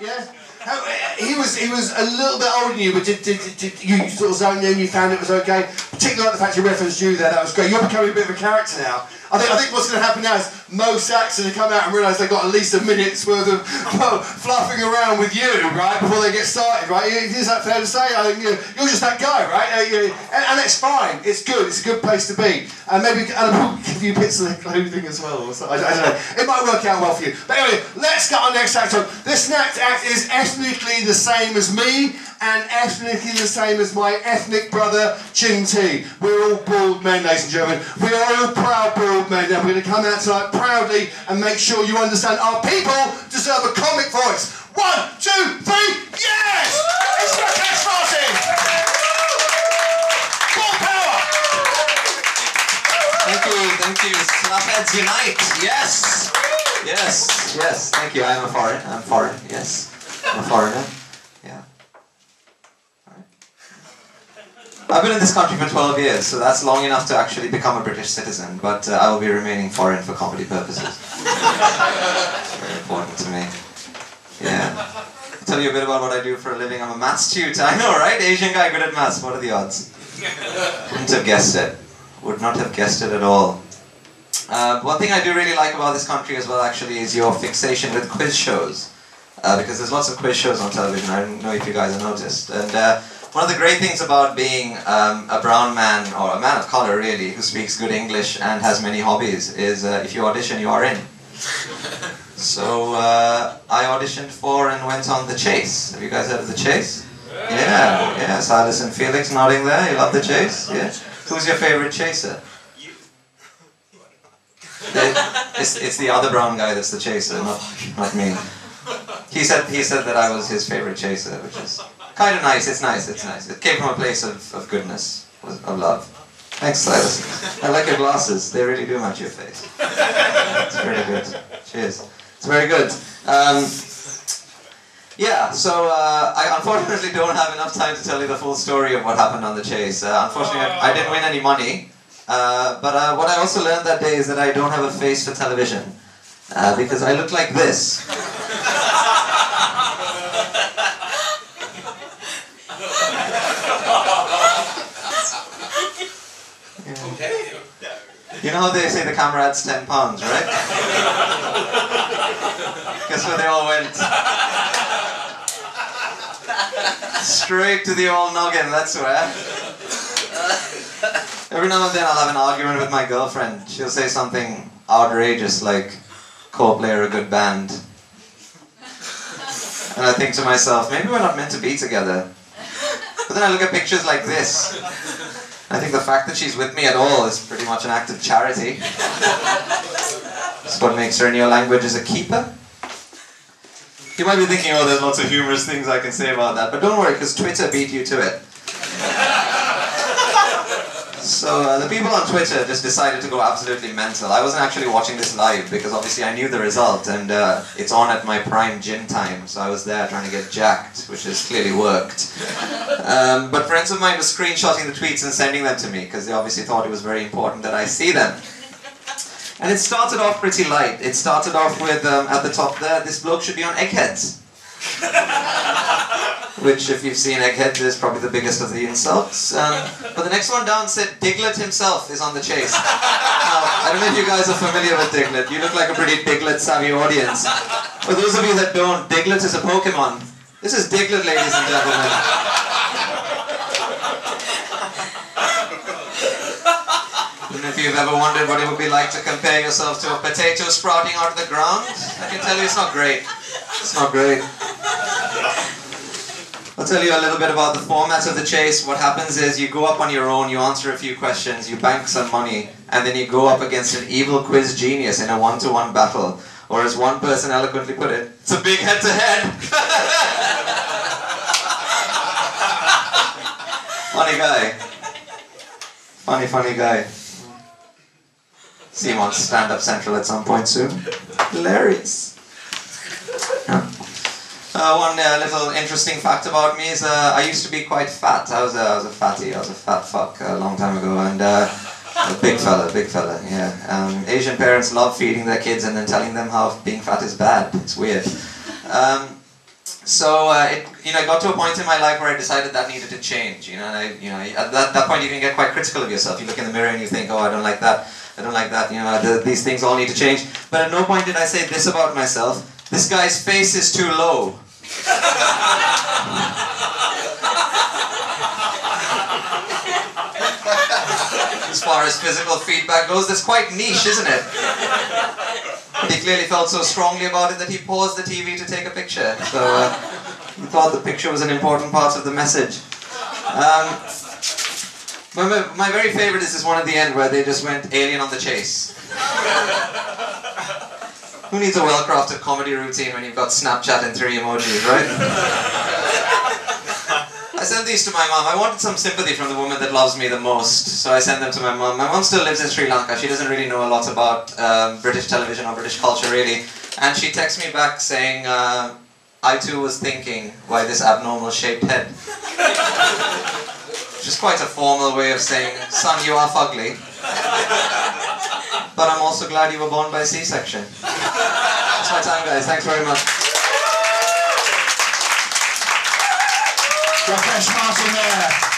Yeah. He was a little bit older than you, but did you sort of zoned in? You found it was okay. Particularly like the fact you referenced you there. That was great. You're becoming a bit of a character now. I think what's going to happen now is Mo Saxon come out and realise they've got at least a minute's worth of fluffing around with you, right, before they get started, right? Is that fair to say? I think you're just that guy, right? And it's fine. It's good. It's a good place to be. And maybe we'll give you bits of the clothing as well. Or something. I don't know. It might work out well for you. But anyway, let's get our next act on. This next act is ethnically the same as me and ethnically the same as my ethnic brother, Chin T. We're all bald men, ladies and gentlemen. We are all proud bald men, and we're going to come out tonight proudly and make sure you understand our people deserve a comic voice. 1, 2, 3, yes! It's Rakesh Martin! Full power! Thank you. Slapheads unite! Yes! Yes, thank you. I'm foreign, yes. I'm a foreigner. Yeah. Alright. I've been in this country for 12 years, so that's long enough to actually become a British citizen, but I will be remaining foreign for comedy purposes. It's very important to me. Yeah. I'll tell you a bit about what I do for a living. I'm a maths tutor. I know, right? Asian guy good at maths. What are the odds? Wouldn't have guessed it. Would not have guessed it at all. One thing I do really like about this country as well, actually, is your fixation with quiz shows. Because there's lots of quiz shows on television. I don't know if you guys have noticed. And one of the great things about being a brown man, or a man of color really, who speaks good English and has many hobbies, is if you audition, you are in. So I auditioned for and went on The Chase. Have you guys heard of The Chase? Yeah. Silas and Felix nodding there. You love The Chase? Yeah. Who's your favorite chaser? It's the other brown guy that's the chaser, not me. He said that I was his favorite chaser, which is kind of nice. It's nice. It came from a place of goodness, of love. Thanks, Silas. I like your glasses. They really do match your face. It's very good. Cheers. It's very good. Yeah, so I unfortunately don't have enough time to tell you the full story of what happened on The Chase. Unfortunately, I didn't win any money. But what I also learned that day is that I don't have a face for television. Because I look like this. Okay. You know how they say the camera adds 10 pounds, right? Guess where they all went? Straight to the old noggin, that's where. Every now and then I'll have an argument with my girlfriend. She'll say something outrageous like, Coldplay are a good band. And I think to myself, maybe we're not meant to be together. But then I look at pictures like this. I think the fact that she's with me at all is pretty much an act of charity. That's what makes her in your language is a keeper. You might be thinking, oh, there's lots of humorous things I can say about that. But don't worry, because Twitter beat you to it. So the people on Twitter just decided to go absolutely mental. I wasn't actually watching this live because obviously I knew the result and it's on at my prime gym time, so I was there trying to get jacked, which has clearly worked. But friends of mine were screenshotting the tweets and sending them to me because they obviously thought it was very important that I see them. And it started off pretty light. It started off with, at the top there, this bloke should be on eggheads. Which, if you've seen eggheads, is probably the biggest of the insults. But the next one down said, Diglett himself is on the chase. Now, I don't know if you guys are familiar with Diglett. You look like a pretty Diglett-savvy audience. For those of you that don't, Diglett is a Pokemon. This is Diglett, ladies and gentlemen. And if you've ever wondered what it would be like to compare yourself to a potato sprouting out of the ground, I can tell you it's not great. It's not great. I'll tell you a little bit about the format of the chase. What happens is you go up on your own, you answer a few questions, you bank some money, and then you go up against an evil quiz genius in a one-to-one battle. Or as one person eloquently put it, it's a big head-to-head. Funny guy. Funny guy. See him on Stand Up Central at some point soon. Hilarious. One little interesting fact about me is I used to be quite fat. I was a fatty. I was a fat fuck a long time ago, and a big fella. Yeah. Asian parents love feeding their kids and then telling them how being fat is bad. It's weird. So it got to a point in my life where I decided that needed to change. And at that point you can get quite critical of yourself. You look in the mirror and you think, oh, I don't like that. I don't like that. These things all need to change. But at no point did I say this about myself: this guy's face is too low. As far as physical feedback goes, that's quite niche, isn't it? He clearly felt so strongly about it that he paused the TV to take a picture. So he thought the picture was an important part of the message. My very favorite is this one at the end where they just went alien on the chase. Who needs a well-crafted comedy routine when you've got Snapchat and 3 emojis, right? I sent these to my mom. I wanted some sympathy from the woman that loves me the most, so I sent them to my mom. My mom still lives in Sri Lanka. She doesn't really know a lot about British television or British culture, really. And she texts me back saying, I too was thinking, why this abnormal shaped head? Which is quite a formal way of saying, son, you are fugly. But I'm also glad you were born by C-section. That's my time, guys. Thanks very much. Rakesh Martin there.